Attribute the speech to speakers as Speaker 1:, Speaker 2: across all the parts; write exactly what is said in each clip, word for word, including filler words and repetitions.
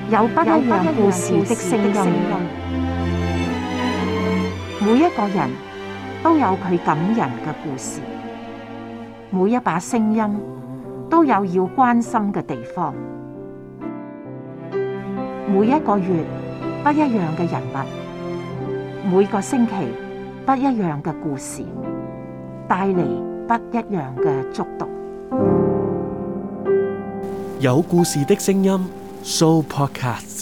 Speaker 1: 有不一樣故事的聲音，每一個人都有佢感人嘅故事，每一把聲音都有要關心嘅地方。每一個月不一樣嘅人物，每個星期不一樣嘅故事，帶嚟不一樣嘅觸動。
Speaker 2: 有故事的聲音 Sooo Podcast。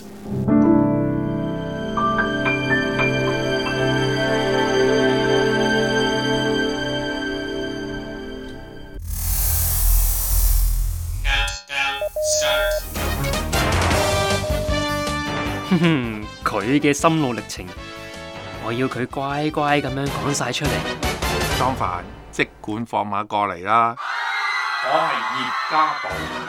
Speaker 3: 哼哼，佢嘅心路歷程，我要佢乖乖咁樣講晒出嚟。
Speaker 4: 莊凡，即管放馬過嚟啦！我係葉家寶。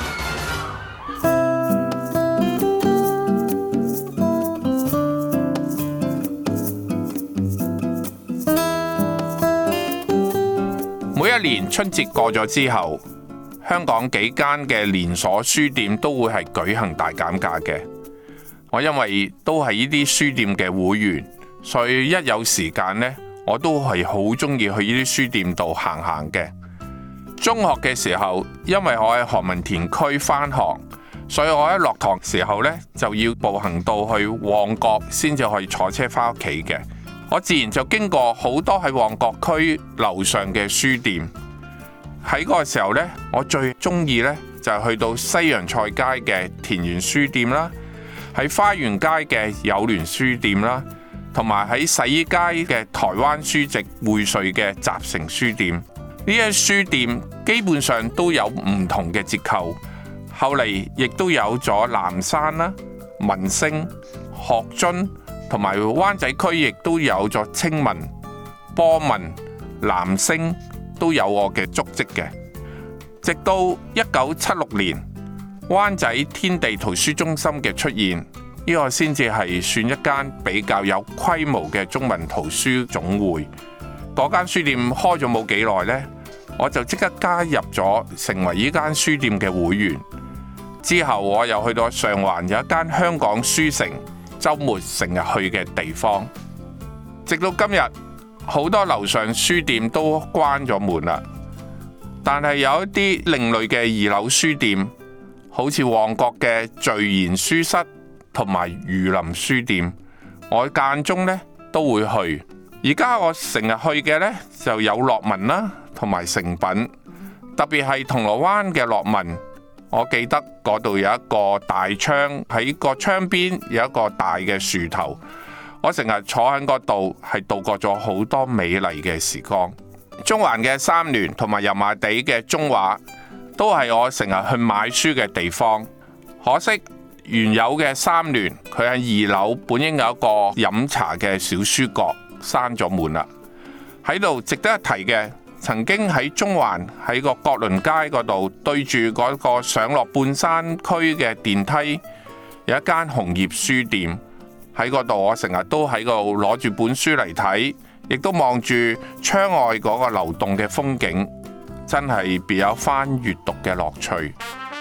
Speaker 4: 每一年春節過咗之後，香港幾間嘅連鎖書店都會係舉行大減價嘅。我因為都係呢啲書店嘅會員，所以一有時間呢，我都係好中意去呢啲書店度行行嘅。中學嘅時候，因為我喺何文田區返學，所以我一落堂時候呢，就要步行到去旺角先至可以坐車返屋企嘅。我自然就經過好多喺旺角區樓上嘅書店。喺嗰個時候呢，我最中意呢，就係去到西洋菜街嘅田園書店啦，喺花園街嘅友聯書店啦，同埋喺洗衣街嘅台灣書籍匯萃嘅集成書店。呢啲書店基本上都有唔同嘅折扣，後嚟亦都有咗南山啦、民星、學津，同埋灣仔區亦都有咗青文、波文、南星，都有我嘅足跡嘅。直到一九七六年，灣仔天地圖書中心嘅出現，呢個先至係算一間比較有規模嘅中文圖書總會。嗰間書店開咗冇幾耐呢，我就即刻加入咗，成為呢間書店嘅會員。之後我又去到上環有一間香港書城，週末成日去嘅地方。直到今日，好多樓上書店都關咗門啦，但係有一啲另類嘅二樓書店，好似旺角嘅聚賢書室同埋漁林書店，我間中呢都會去。而家我成日去嘅呢，就有樂文啦，同埋誠品，特別係銅鑼灣嘅樂文。我記得嗰度有一個大窗，喺個窗邊有一個大嘅樹頭，我成日坐喺嗰度，係度過咗好多美麗嘅時光。中環嘅三聯同埋油麻地嘅中華，都係我成日去買書嘅地方。可惜原有嘅三聯，佢喺二樓本應有一個飲茶嘅小書角，閂咗門啦。喺度值得一提嘅，曾經喺中環喺個國倫街嗰度對住嗰個上落半山區嘅電梯，有一間紅葉書店。喺嗰度我成日都喺度攞住本書嚟睇，亦都望住窗外嗰個流動嘅風景，真係別有番閱讀嘅樂趣。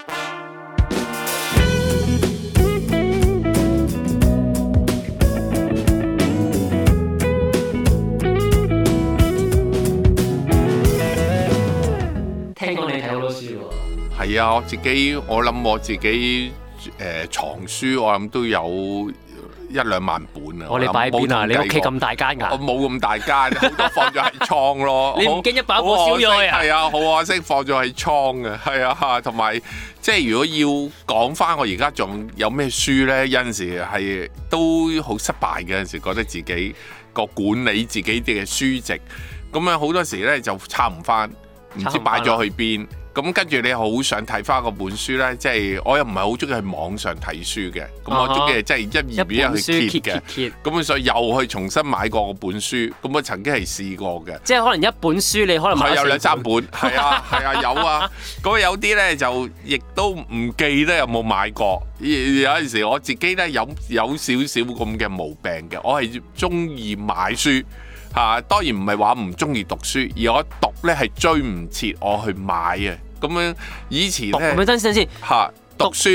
Speaker 3: 聽講你睇好多書喎。
Speaker 4: 係啊，我自己我諗我自己誒、呃、藏書，我諗都有一兩萬本啊！
Speaker 3: 我哋擺邊啊？你屋企咁大間㗎？
Speaker 4: 我冇咁大間，好多放咗喺倉咯。
Speaker 3: 你唔驚一把火燒咗佢啊？
Speaker 4: 係啊，好可惜放咗喺倉嘅，係啊，同埋即係如果要講翻我而家仲有咩書咧，有陣時係都好失敗嘅，有陣時覺得自己個管理自己嘅書籍，咁樣好多時咧就抄唔翻，唔知擺咗去邊。咁跟住你好想睇翻嗰本書咧，即係我又唔係好中意去網上睇書嘅，咁我中意即係一頁頁去揭嘅，咁所以又去重新買過嗰本書，咁我曾經係試過嘅。
Speaker 3: 即係可能一本書你可能買
Speaker 4: 係有兩三本，係啊係啊有啊，咁有啲咧就亦都唔記得有冇買過。有陣時我自己咧有有少少咁嘅毛病嘅，我係中意買書。嚇、啊，當然唔係話唔中意讀書，而我讀咧係追唔切我去買嘅。咁樣以前咧，
Speaker 3: 等先先
Speaker 4: 嚇讀書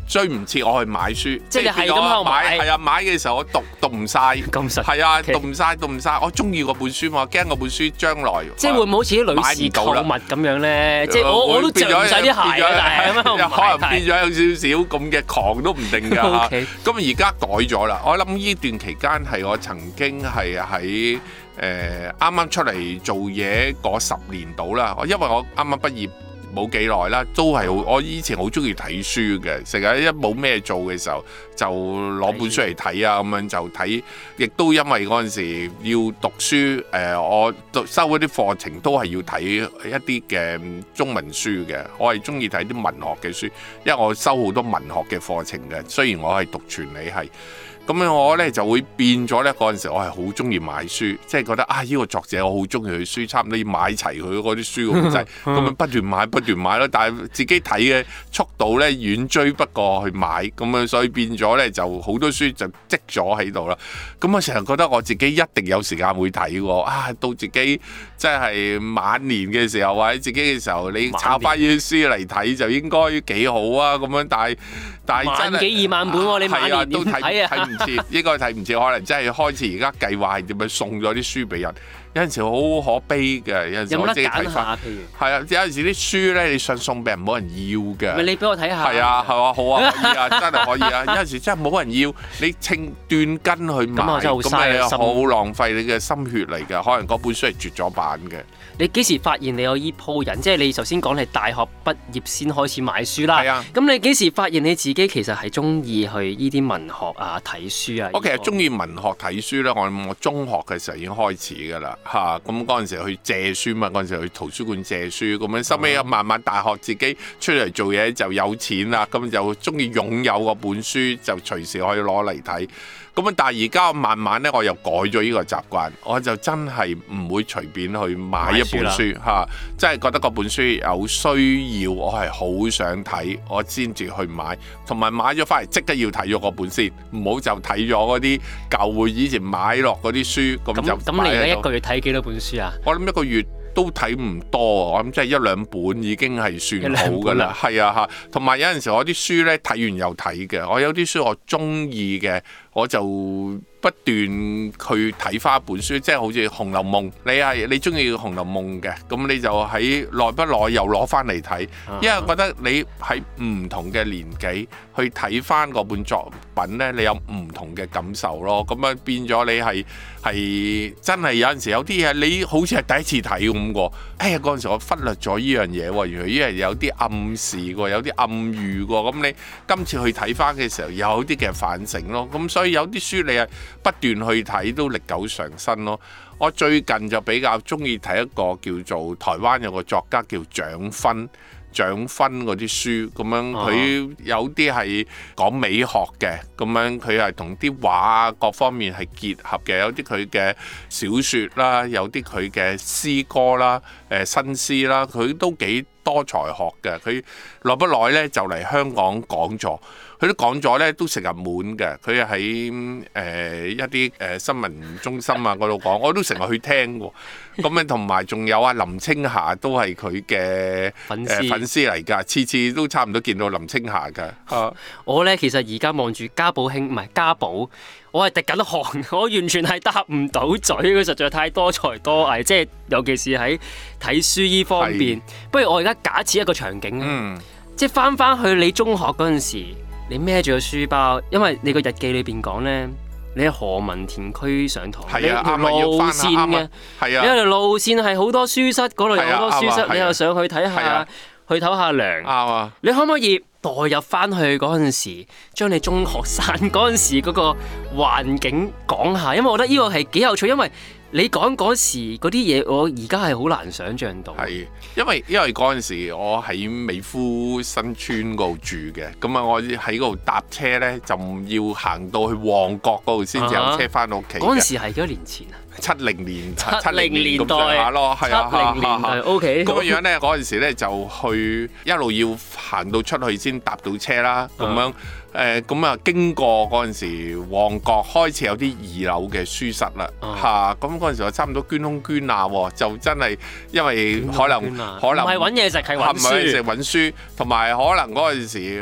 Speaker 4: 追唔切我去買書，
Speaker 3: 即係你係咁喺度買，
Speaker 4: 係啊，買嘅時候我讀讀唔晒，
Speaker 3: 咁實
Speaker 4: 係啊，讀唔晒讀唔晒，我中意嗰本書嘛，我驚嗰本書將來
Speaker 3: 即係會唔會好似啲女士購物咁樣咧？即係我我都着唔晒啲鞋啊，但係咁樣
Speaker 4: 可能變咗有少少咁嘅狂都唔定㗎。咁而家改咗啦，我諗呢段期間係我曾經係喺誒啱啱出嚟做嘢嗰十年度啦，因為我啱啱畢業冇幾耐啦，都係好。我以前好中意睇書嘅，成日一冇咩做嘅時候就攞本書嚟睇啊，咁樣就睇。亦都因為嗰陣時要讀書，誒、呃、我收嗰啲課程都係要睇一啲嘅中文書嘅。我係中意睇啲文學嘅書，因為我收好多文學嘅課程嘅。雖然我係讀傳理系。咁樣我咧就會變咗咧，嗰陣時我係好中意買書，即係覺得啊呢、呢個作者我好中意佢書，差唔多要買齊佢嗰啲書咁滯，咁樣不斷買不斷買咯。但係自己睇嘅速度咧遠追不過去買，咁樣所以變咗咧就好多書就積咗喺度啦。咁我成日覺得我自己一定有時間會睇喎，啊到自己即係晚年嘅時候或者自己嘅時候，你抄翻呢啲書嚟睇就應該幾好啊咁樣。但係但係真係
Speaker 3: 萬幾二萬本喎、啊，你晚年點睇啊？
Speaker 4: 應該睇唔切，可能真係開始而家計劃係點樣送咗啲書俾人。有陣時好可悲嘅，有陣時我自己睇翻。譬如係啊，有陣時啲書咧，你想送俾人冇人要嘅。
Speaker 3: 咪你俾我睇下。
Speaker 4: 係啊，係啊，好啊，可以啊，真係可以啊。有陣時真係冇人要，你稱斷根去買，咁你好浪費你嘅心血嚟㗎。可能嗰本書係絕咗版嘅。
Speaker 3: 你幾時發現你有依鋪人？即係你頭先講你大學畢業先開始買書啦。
Speaker 4: 係啊。
Speaker 3: 咁你幾時發現你自己其實係中意去依啲文學啊、睇書啊？
Speaker 4: 我其實中意文學睇書咧，我我中學嘅時候已經開始㗎啦。嚇，咁嗰陣時去借書嘛，嗰陣時去圖書館借書，咁樣收尾慢慢大學自己出嚟做嘢就有錢啦，咁就中意擁有嗰本書，就隨時可以攞嚟睇。咁啊，但係而家慢慢咧，我又改咗呢個習慣，我就真係唔會隨便去買一本書嚇，真係覺得嗰本書有需要，我係好想睇，我先至去買，同埋買咗翻嚟即刻要睇咗嗰本先，唔好就睇咗嗰啲舊會以前買落嗰啲書，咁就
Speaker 3: 咁你而家一個月睇幾多本書啊？
Speaker 4: 我諗一個月都睇唔多，我諗即係一兩本已經係算好㗎啦。係啊嚇，同埋有陣時我啲書咧睇完又睇嘅，我有啲書我中意嘅，我就不斷去睇翻一本書，即係好似《紅樓夢》，你係你中意《紅樓夢》嘅，咁你就喺耐不耐又攞翻嚟睇，因為覺得你喺唔同嘅年紀去睇翻嗰本作品咧，你有唔同嘅感受咯。咁樣變咗你係係真係有陣時有啲嘢你好似係第一次睇咁喎，哎呀嗰陣時我忽略咗依樣嘢喎，原來依樣有啲暗示喎，有啲暗喻喎，咁你今次去睇翻嘅時候有啲嘅反省咯。咁所以有啲書你係不斷去睇都歷久常新咯。我最近就比較中意睇一個叫做台灣有個作家叫蔣勳。蔣勳嗰啲書咁樣，佢有啲係講美學嘅，咁樣佢係同啲畫啊各方面係結合嘅，有啲佢嘅小説啦，有啲佢嘅詩歌啦，誒新詩啦，佢都幾多才學嘅。佢耐不耐咧就嚟香港講座，佢都講咗咧都成日滿嘅。佢喺誒一啲誒新聞中心啊嗰度講，我都成日去聽喎。咁樣同埋仲有啊林青霞都係佢嘅粉絲、呃、粉絲嚟㗎，次次都差唔多見到林青霞㗎。啊、
Speaker 3: 我咧其實而家望住家寶兄唔係家寶，我係滴緊汗，我完全係答唔到嘴，佢實在太多才多藝，即係尤其是喺睇書依方面。是不如我而家假設一個場景啊，嗯、即係翻翻去你中學嗰陣時，你孭住個書包，因為你個日記裏邊講咧。你喺何文田區上堂，
Speaker 4: 啊、
Speaker 3: 你條路線嘅，
Speaker 4: 啊啊、
Speaker 3: 你條路線係好多書室，嗰度有好多書室，啊啊、你又上去睇下，啊、去唞下涼。
Speaker 4: 啊、
Speaker 3: 你可唔可以代入翻去嗰陣時，將你中學生嗰陣時嗰個環境講下？因為我覺得呢個係幾有趣，因為你講嗰時嗰啲嘢，我而家係好難想像到。係，
Speaker 4: 因為因為嗰陣時我喺美孚新村嗰度住嘅，咁啊我喺嗰度搭車咧，就要行到去旺角嗰度先至有車翻到屋企。嗰陣
Speaker 3: 時係幾多年前啊？
Speaker 4: 七零年、
Speaker 3: 七零年代
Speaker 4: 下咯，係啊，
Speaker 3: 七零年代 OK。
Speaker 4: 咁樣咧，嗰陣時咧就去一路要行到出去先搭到車啦，咁樣。誒咁啊，經過嗰陣時，旺角開始有啲二樓嘅書室啦，嚇咁嗰陣時我差唔多捐窿捐罅喎，就真係因為可能可能
Speaker 3: 唔係揾嘢食係揾書，
Speaker 4: 唔係揾嘢食揾書，同埋可能嗰陣時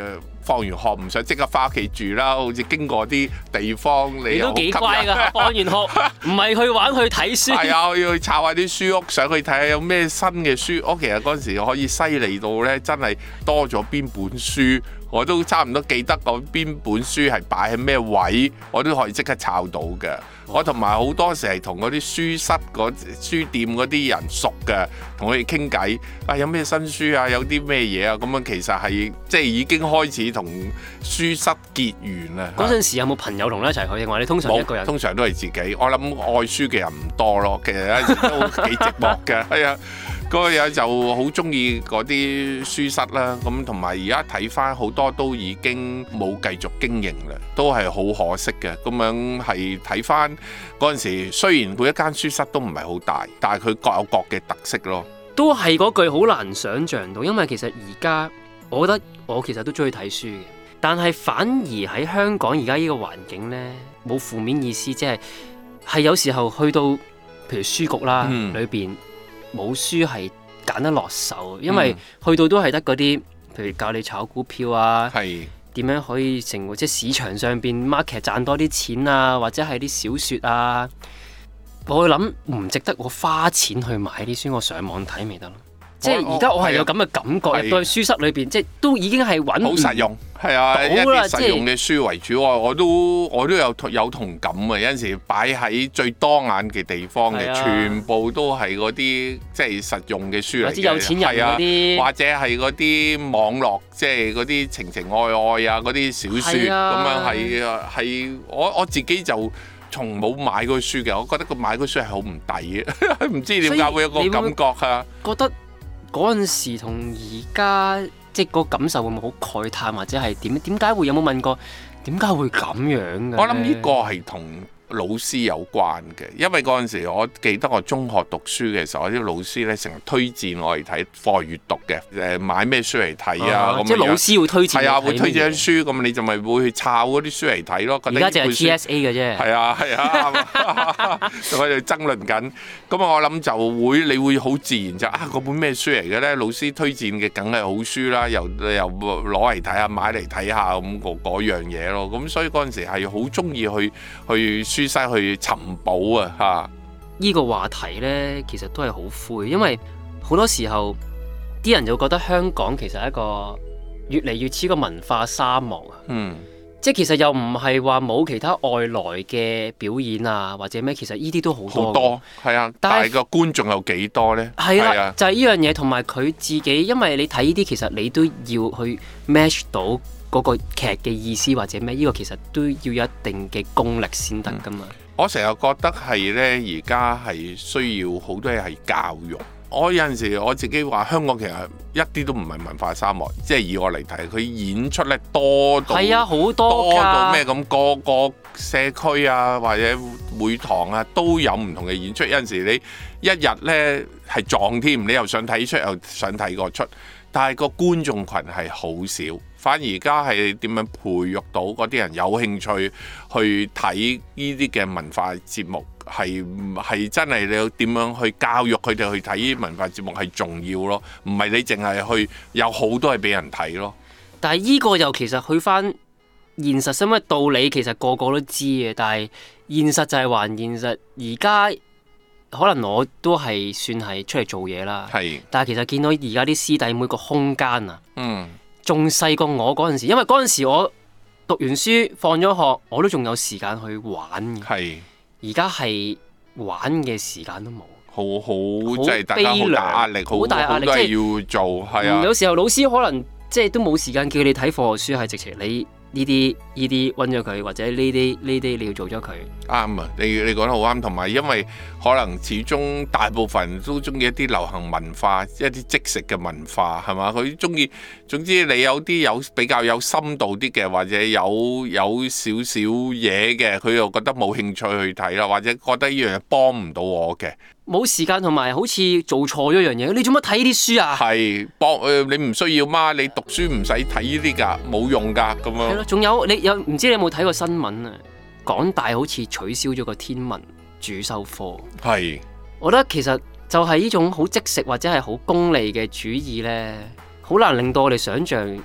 Speaker 4: 放完學唔想即刻翻屋企住啦，好似經過啲地方你
Speaker 3: 你都幾乖㗎，放完學唔係去玩去睇書。
Speaker 4: 係啊，我要去抄下啲書屋，上去睇下有咩新嘅書屋。其實嗰陣時可以犀利到咧，真係多咗邊本書，我都差唔多記得嗰邊本書係擺喺咩位，我都可以即刻抄到嘅。我同埋好多時係同嗰啲書室嗰書店嗰啲人熟嘅，同佢哋傾偈。啊，有咩新書啊？有啲咩嘢啊？咁樣其實係即係已經開始同書室結緣啦。
Speaker 3: 嗰陣時有冇朋友同你一齊去？定話你通常一個人？
Speaker 4: 通常都係自己。我諗愛書嘅人唔多咯，其實有陣時都幾寂寞嘅。係啊。嗰個嘢就好中意嗰啲書室啦，咁同埋而家睇翻好多都已經冇繼續經營啦，都係好可惜嘅。咁樣係睇翻嗰陣時，雖然每一間書室都唔係好大，但係佢各有各嘅特色咯。
Speaker 3: 都係嗰句好難想像到，因為其實而家我覺得我其實都中意睇書嘅，但係反而喺香港而家呢個環境呢，冇負面意思，即係係有時候去到譬如書局啦，嗯、裏邊。冇書係揀得落手，因為去到都係得嗰啲，譬如教你炒股票啊，點樣可以成為即係市場上邊 market 賺多啲錢啊，或者係啲小説啊，我會諗唔值得我花錢去買啲書，我上網睇咪得咯。即係而家我係有咁嘅感覺，入到去書室裏邊，即係都已經係揾
Speaker 4: 好實用，係啊，一啲實用嘅書為主。我我都我都有有同感啊！有陣時擺喺最多眼嘅地方嘅，全部都係嗰啲即係實用嘅書嚟嘅，
Speaker 3: 或者有錢人嗰啲，
Speaker 4: 或者係嗰啲網絡，即係嗰啲情情愛愛啊嗰啲小説咁樣係係我我自己就從冇買過書嘅，我覺得個買嗰書係好唔抵嘅，唔知點解會有個感覺啊？
Speaker 3: 覺得嗰陣時同而家即係個感受會唔會好慨嘆，或者係點？點解會有冇問過點解會咁樣嘅？
Speaker 4: 我諗呢個係同老師有關嘅，因為嗰陣時我記得我中學讀書嘅時候，啲老師咧成日推薦我嚟睇課外閱讀嘅，誒買咩書嚟睇啊？咁、啊、
Speaker 3: 即係老師會推薦，
Speaker 4: 係啊，會推薦書，咁你就咪會去抄嗰啲書嚟睇咯。
Speaker 3: 而家就係 T S A 嘅啫。
Speaker 4: 係啊係啊，就喺度爭論緊。咁我諗就會你會好自然就啊，嗰本咩書嚟嘅咧？老師推薦嘅梗係好書啦，又又攞嚟睇下，買嚟睇下咁嗰樣嘢咯。咁所以嗰陣時係好中意去去書室去尋寶啊！嚇，
Speaker 3: 呢個話題呢，其實都係好灰，因為好多時候啲人就覺得香港其實係一個越嚟越似個文化沙漠啊。嗯，即係其實又唔係話冇其他外來嘅表演啊，或者咩，其實呢啲都好多。好多
Speaker 4: 係啊，但係個觀眾有幾多呢？
Speaker 3: 係啦、啊，就係呢樣嘢，同埋佢自己，因為你睇呢啲，其實你都要去 match 到嗰個劇嘅意思或者咩？呢個其實都要有一定嘅功力先得噶嘛。嗯、
Speaker 4: 我成日覺得係呢，而家係需要好多嘢係教育。我有陣時我自己話香港其實一啲都唔係文化沙漠，即係以我嚟睇，佢演出咧多到
Speaker 3: 係啊，好多
Speaker 4: 多到咩咁，個個社區啊或者會堂啊都有唔同嘅演出。有陣時你一日咧係撞添，你又想睇出又想睇個出，但係個觀眾群係好少。反而而家係點樣培育到嗰啲人有興趣去睇呢啲嘅文化節目，係係真係你要點樣去教育佢哋去睇呢啲文化節目係重要咯，唔係你淨係去有好多係俾人睇咯。
Speaker 3: 但係呢個又其實去翻現實，因為道理其實個個都知嘅，但係現實就係還現實。而家可能我都係算係出嚟做嘢啦，係，但係其實見到而家啲師弟妹個空間啊，嗯。仲細過我嗰陣時，因為嗰陣時我讀完書放咗學，我都仲有時間去玩嘅。係，而家係玩嘅時間都冇，
Speaker 4: 好好即係大家好大壓力，好大壓力，即係要做。係啊，
Speaker 3: 有時候老師可能即係都冇時間叫你睇課外書，係直情你呢啲呢啲溫咗佢，或者呢啲呢啲你要做咗佢。啱
Speaker 4: 啊，你你講得好啱，同埋因為可能始終大部分人都中意一啲流行文化，一啲即食嘅文化係嘛？佢中意，總之你有啲有比較有深度啲嘅，或者有有少少嘢嘅，佢又覺得冇興趣去睇啦，或者覺得呢樣嘢幫唔到我嘅。
Speaker 3: 冇時間同埋好似做錯咗樣嘢，你做乜睇呢啲書啊？
Speaker 4: 係幫誒，你唔需要嘛？你讀書唔使睇呢啲㗎，冇用㗎咁樣。係咯，
Speaker 3: 仲有你有唔知你有冇睇過新聞啊？港大好似取消咗個天文主修科。係，我覺得其實就係呢種好即食或者係好功利嘅主義咧，好難令到我哋想像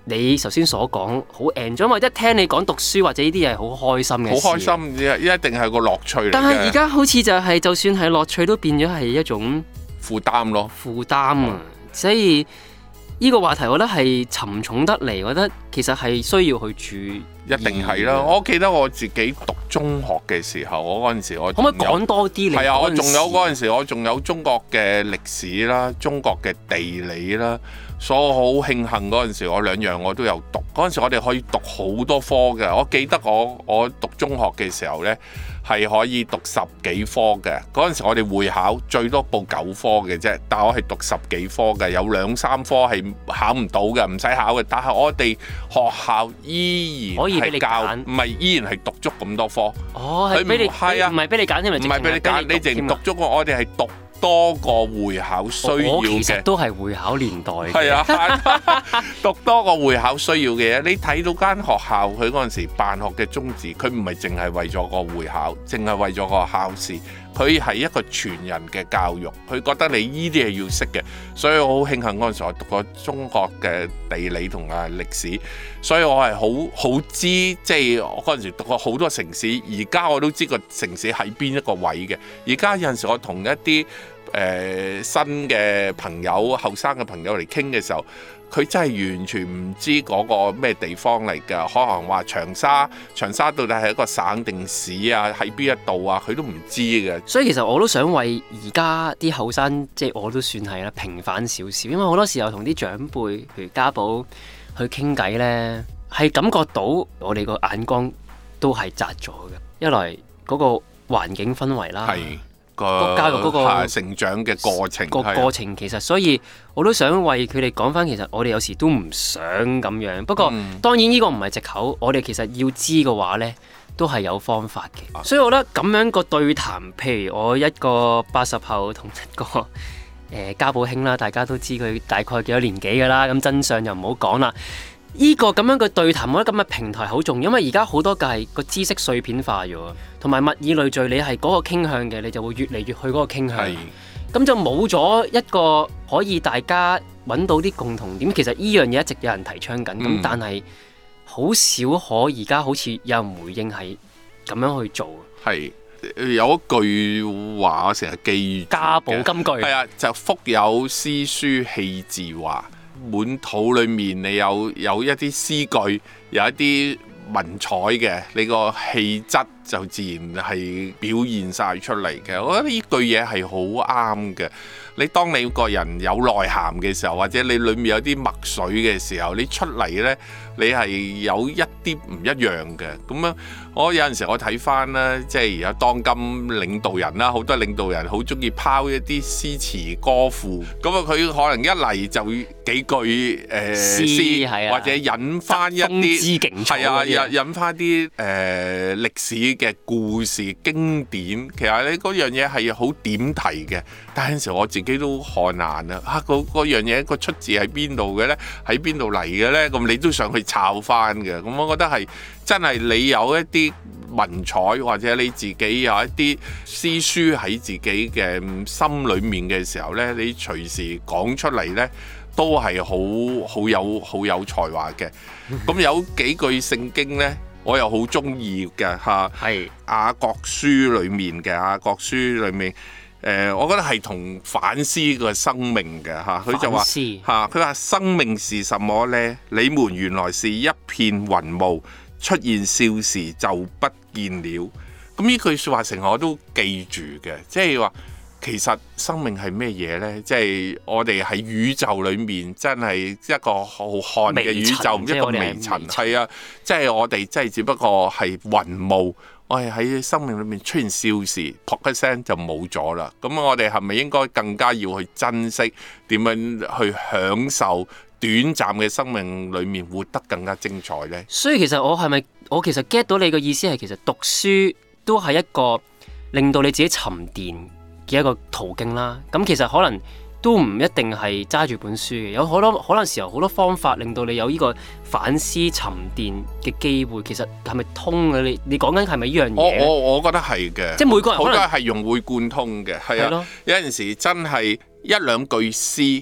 Speaker 3: 你頭先所講好 enjoy，因為一聽你講讀書或者呢啲嘢好開心嘅事。
Speaker 4: 好開心，一定係個樂趣嚟嘅。
Speaker 3: 但係而家好似就係、是，就算係樂趣都變咗係一種
Speaker 4: 負擔咯，
Speaker 3: 負擔啊！所以呢個話題，我覺得係沉重得嚟，我覺得其實係需要去注。
Speaker 4: 一定係啦！我記得我自己讀中學嘅時候，我嗰陣時我
Speaker 3: 可唔可以講多啲？你
Speaker 4: 係啊，我仲有嗰陣時，我仲有中國嘅歷史啦，中國嘅地理啦，所以我好慶幸嗰陣時，我兩樣我都有讀。嗰陣時我哋可以讀好多科嘅。我記得我我讀中學嘅時候呢，係可以讀十幾科嘅。嗰陣時我哋會考最多報九科嘅啫，但係我係讀十幾科嘅，有兩三科係考唔到嘅，唔使考嘅。但係我哋學校依然可以係教，唔係依然係讀足咁多科。
Speaker 3: 哦，係俾你係啊，唔係俾你揀添，
Speaker 4: 唔係俾你揀，你淨讀足個。我哋係讀多個會考需要嘅。我
Speaker 3: 其實都係會考年代嘅。
Speaker 4: 係啊，讀多個會考需要嘅嘢。你睇到間學校佢嗰陣時辦學嘅宗旨，佢唔係淨係為咗個會考，淨係為咗個考試。佢係一個全人嘅教育，佢覺得你依啲係要識嘅，所以我好慶幸嗰陣時我讀過中國嘅地理同啊歷史，所以我係好好知，即係我嗰陣時讀過好多城市，而家我都知個城市喺邊一個位嘅。而家有陣時我同一啲誒、呃、新嘅朋友、後生嘅朋友嚟傾嘅時候，佢真係完全唔知嗰個咩地方嚟㗎，可能話長沙，長沙到底係一個省定市啊，喺邊一度啊，佢都唔知嘅。
Speaker 3: 所以其實我都想為而家啲後生，即係我都算係啦，平反少少，因為好多時候同啲長輩，譬如家寶去傾偈呢，係感覺到我哋個眼光都係窄咗嘅。一來嗰個環境氛圍啦。個教育嗰個
Speaker 4: 成長嘅過程，
Speaker 3: 個過程其實，所以我都想為佢哋講翻，其實我哋有時都唔想咁樣。不過、嗯、當然呢個唔係藉口，我哋其實要知嘅話呢，都係有方法嘅。所以我覺得咁樣個對談，譬如我一個八十後同一個誒、呃、家寶兄啦，大家都知佢大概幾多年紀㗎啦，咁真相就唔好講啦。呢個咁樣嘅對談，我覺得咁嘅平台好重要，因為而家好多嘅係個知識碎片化咗，同埋物以類聚，你係嗰個傾向嘅，你就會越嚟越去嗰個傾向，咁就冇咗一個可以大家揾到啲共同點。其實呢樣嘢一直有人提倡緊，咁、嗯、但係好少可而家好似有人回應係咁樣去做。
Speaker 4: 係有一句話我成日記住，
Speaker 3: 家寶金句，
Speaker 4: 係啊，就腹有詩書氣自華。滿肚裏面你有有一啲詩句，有一啲文采嘅，你個氣質就自然係表現晒出嚟嘅。我覺得呢句嘢係好啱嘅。你當你個人有內涵嘅時候，或者你裏面有啲墨水嘅時候，你出嚟呢，你係有一啲唔一樣嘅。咁樣我有陣時我睇翻啦，即係而家當今領導人啦，好多領導人好中意拋一啲詩詞歌賦，咁啊佢可能一嚟就幾句誒、呃、詩，
Speaker 3: 詩
Speaker 4: 或者引翻一啲係啊引引翻啲誒歷史嘅故事經典。其實你嗰樣嘢係好點題嘅，但係有陣時我自己都看難啊！嚇，嗰嗰樣嘢個出自喺邊度嘅咧？喺邊度嚟嘅咧？咁你都想去抄翻嘅。咁我覺得係真係你有一啲文采，或者你自己有一啲詩書喺自己嘅心裏面嘅時候咧，你隨時講出嚟咧，都係好好有好有才華嘅。咁有幾句聖經咧，我又好中意嘅嚇，係雅各書裏面嘅雅各書裏面。誒、呃，我覺得係同反思個生命嘅嚇，佢就話嚇，佢話生命是什麼呢？你們原來是一片雲霧，出現少時就不見了。咁呢句説話成日我都記住嘅，即係話其實生命係咩嘢呢？即係我哋喺宇宙裏面真係一個浩瀚嘅宇宙，一個微塵，係啊，即係我哋真係只不過係雲霧。我係喺生命裏面出現少時，噗一聲就冇咗啦。咁我哋係咪應該更加要去珍惜，點樣去享受短暫嘅生命裏面活得更加精彩呢？
Speaker 3: 所以其實我係咪我其實 get 到你嘅意思係，其實讀書都係一個令到你自己沉澱嘅一個途徑啦。咁其實可能都唔一定係揸住本書嘅，有好多可能時候好多方法令到你有呢個反思沉澱嘅機會。其實係咪通嘅？你你講緊係咪呢樣嘢？
Speaker 4: 我我我覺得係嘅，
Speaker 3: 即係每個人
Speaker 4: 好多係融會貫通嘅，係啊。有陣時真係一兩句詩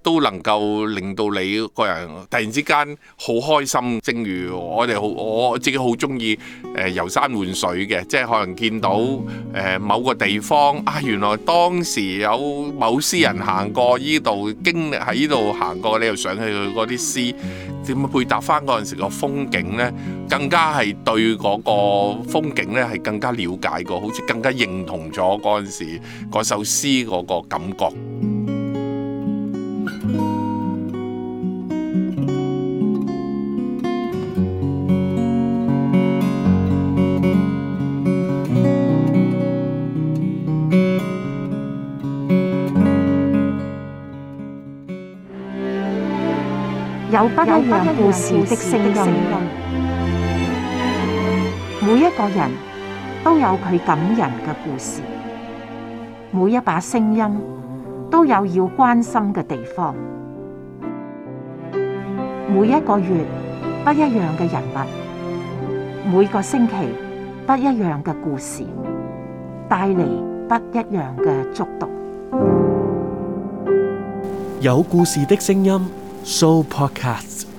Speaker 4: 都能夠令到你個人突然之間好開心。正如我哋好，我自己好中意誒遊山玩水嘅，即係可能見到誒、呃、某個地方啊，原來當時有某詩人行過依度，經歷喺依度行過，你又想起佢嗰啲詩，點樣配搭翻嗰陣時個風景呢？更加係對嗰個風景呢係更加了解過，好似更加認同咗嗰陣時嗰首詩嗰個感覺。
Speaker 1: 有不一樣故事的聲音，每一個人都有佢感人嘅故事，每一把聲音都有要關心嘅地方。每一個月不一樣嘅人物，每個星期不一樣嘅故事，帶嚟不一樣嘅觸動。
Speaker 2: 有故事的聲音，Sooo Podcast。